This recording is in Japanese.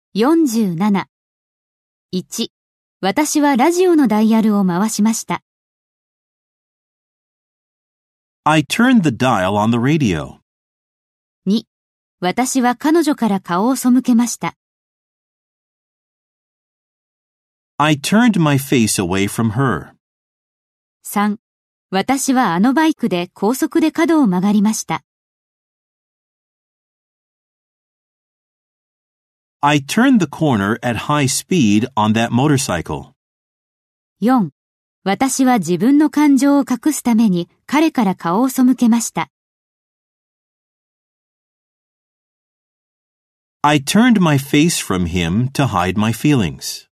47。1. 私はラジオのダイヤルを回しました。 I turned the dial on the radio. 2. 私は彼女から顔を背けました。 I turned my face away from her. 3. 私はあのバイクで高速で角を曲がりました。 I turned the corner at high speed on that motorcycle. 4. 私は自分の感情を隠すために彼から顔を背けました。 I turned my face from him to hide my feelings.